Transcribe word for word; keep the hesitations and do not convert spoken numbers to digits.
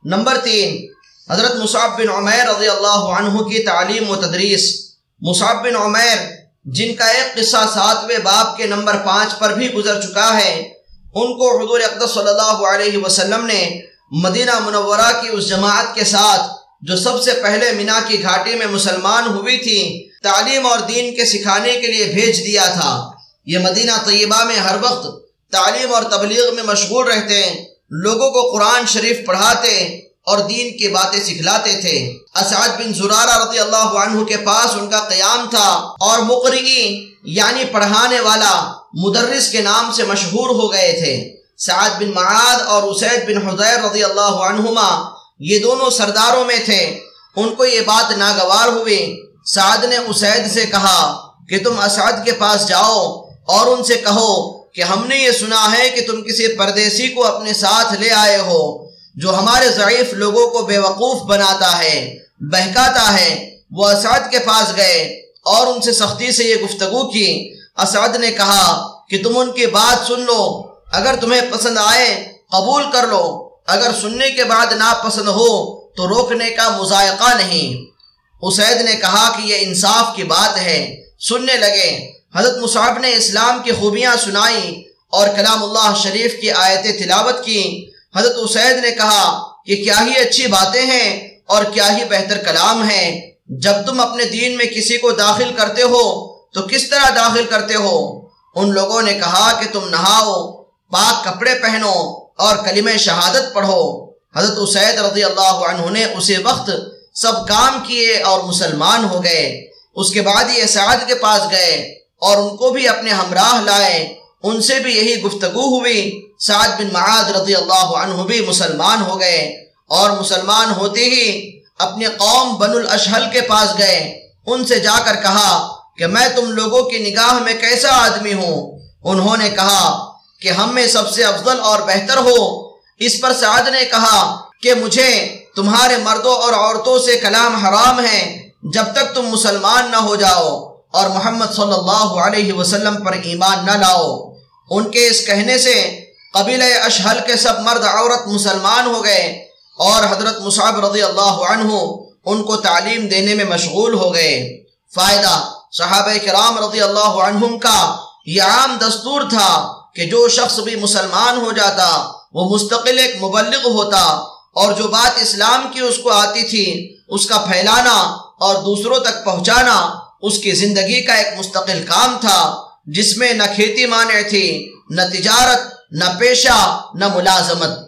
Number تین، حضرت مصعب بن عمیر رضی اللہ عنہ کی تعلیم و تدریس۔ مصعب بن عمیر جن کا ایک قصہ ساتویں باب کے نمبر پانچ پر بھی گزر چکا ہے، ان کو حضور اقدس صلی اللہ علیہ وسلم نے مدینہ منورہ کی اس جماعت کے ساتھ جو سب سے پہلے مینا کی گھاٹی میں مسلمان ہوئی تھی، تعلیم اور دین کے سکھانے کے لیے بھیج دیا تھا۔ یہ مدینہ طیبہ میں ہر وقت تعلیم اور تبلیغ میں مشغول رہتے، لوگوں کو قرآن شریف پڑھاتے اور دین کی باتیں سکھلاتے تھے۔ اسعد بن زرارہ رضی اللہ عنہ کے پاس ان کا قیام تھا اور مقرئی یعنی پڑھانے والا، مدرس کے نام سے مشہور ہو گئے تھے۔ سعد بن معاذ اور اسید بن حضیر رضی اللہ عنہما یہ دونوں سرداروں میں تھے۔ ان کو یہ بات ناگوار ہوئی۔ سعد نے اسید سے کہا کہ تم اسعد کے پاس جاؤ اور ان سے کہو کہ ہم نے یہ سنا ہے کہ تم کسی پردیسی کو اپنے ساتھ لے آئے ہو جو ہمارے ضعیف لوگوں کو بے وقوف بناتا ہے، بہکاتا ہے۔ وہ اسعد کے پاس گئے اور ان سے سختی سے یہ گفتگو کی۔ اسعد نے کہا کہ تم ان کی بات سن لو، اگر تمہیں پسند آئے قبول کر لو، اگر سننے کے بعد ناپسند ہو تو روکنے کا مضائقہ نہیں۔ اسید نے کہا کہ یہ انصاف کی بات ہے۔ سننے لگے۔ حضرت مصعب نے اسلام کی خوبیاں سنائیں اور کلام اللہ شریف کی آیتیں تلاوت کی۔ حضرت اسید نے کہا کہ کیا ہی اچھی باتیں ہیں اور کیا ہی بہتر کلام ہے۔ جب تم اپنے دین میں کسی کو داخل کرتے ہو تو کس طرح داخل کرتے ہو؟ ان لوگوں نے کہا کہ تم نہاؤ، پاک کپڑے پہنو اور کلمہ شہادت پڑھو۔ حضرت اسید رضی اللہ عنہ نے اسی وقت سب کام کیے اور مسلمان ہو گئے۔ اس کے بعد یہ سعد کے پاس گئے اور ان کو بھی اپنے ہمراہ لائے۔ ان سے بھی یہی گفتگو ہوئی۔ سعد بن معاذ رضی اللہ عنہ بھی مسلمان ہو گئے اور مسلمان ہوتے ہی اپنے قوم بنو الاشہل کے پاس گئے۔ ان سے جا کر کہا کہ میں تم لوگوں کی نگاہ میں کیسا آدمی ہوں؟ انہوں نے کہا کہ ہم میں سب سے افضل اور بہتر ہو۔ اس پر سعد نے کہا کہ مجھے تمہارے مردوں اور عورتوں سے کلام حرام ہے جب تک تم مسلمان نہ ہو جاؤ اور محمد صلی اللہ علیہ وسلم پر ایمان نہ لاؤ۔ ان کے اس کہنے سے قبیلہ اشہل کے سب مرد عورت مسلمان ہو گئے اور حضرت مصعب رضی اللہ عنہ ان کو تعلیم دینے میں مشغول ہو گئے۔ فائدہ، صحابہ کرام رضی اللہ عنہم کا یہ عام دستور تھا کہ جو شخص بھی مسلمان ہو جاتا وہ مستقل ایک مبلغ ہوتا اور جو بات اسلام کی اس کو آتی تھی اس کا پھیلانا اور دوسروں تک پہنچانا اس کی زندگی کا ایک مستقل کام تھا، جس میں نہ کھیتی مانع تھی، نہ تجارت، نہ پیشہ، نہ ملازمت۔